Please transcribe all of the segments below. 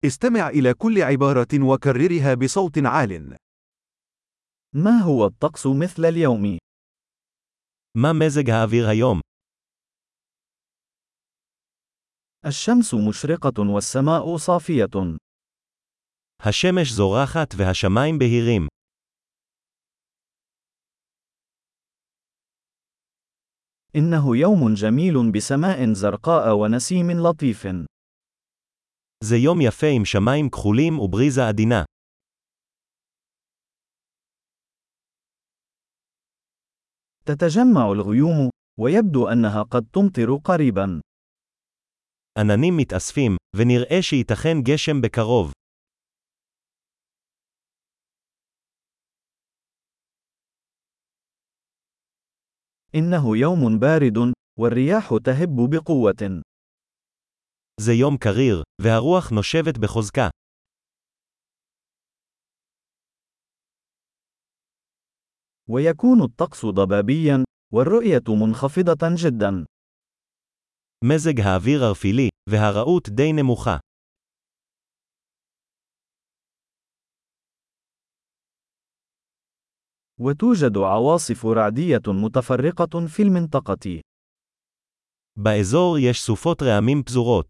استمع إلى كل عبارة وكررها بصوت عال. ما هو الطقس مثل اليوم؟ מה מזג האוויר היום? الشمس مشرقة والسماء صافية. השמש זורחת והשמיים בהירים. إنه يوم جميل بسماء زرقاء ونسيم لطيف. זה יום יפה עם שמיים כחולים ובריזה עדינה. تتجمع الغيوم، ويبدو أنها قد تمطر قريبا. עננים מתאספים, ונראה שייתכן גשם בקרוב. إنه يوم بارد، والرياح تهب بقوة. זה יום קריר, והרוח נושבת בחוזקה. ويكون الطقس ضبابيا، والرؤية منخفضة جدا. מזג האוויר ערפילי, והראות די נמוכה. وتوجد عواصف رعدية متفرقة في المنطقة. באזור יש סופות רעמים פזורות.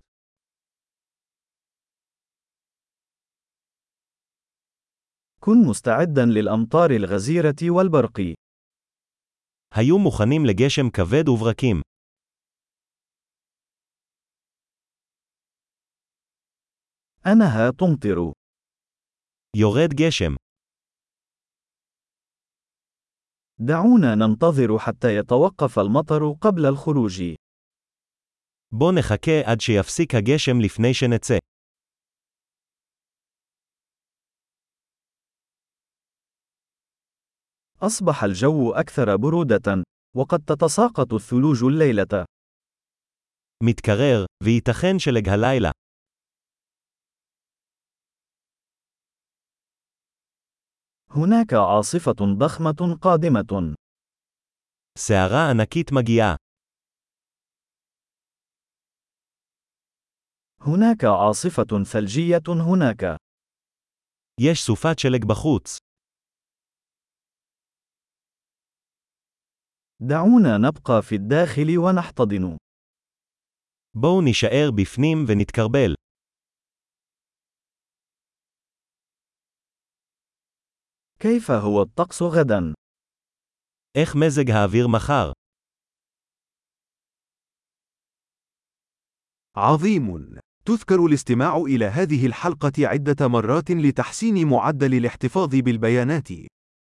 كن مستعدا للأمطار الغزيرة والبرق. היו מוכנים לגשם כבד וברקים. أنها تمطر. יורד גשם. دعونا ننتظر حتى يتوقف المطر قبل الخروج. בוא נחכה עד שיפסיק הגשם לפני שנצא. أصبح الجو أكثر برودة، وقد تتساقط الثلوج الليلة. מתקרר, וייתכן שלג הלילה. هناك عاصفة ضخمة قادمة. סערה ענקית מגיעה. هناك عاصفة ثلجية هناك. יש סופת שלג בחוץ. دعونا نبقى في الداخل ونحتضن. בואו נישאר בפנים ונתקרבל. كيف هو الطقس غدا؟ איך מזג האוויר מחר? عظيم! تذكر الاستماع إلى هذه الحلقة عدة مرات لتحسين معدل الاحتفاظ بالبيانات.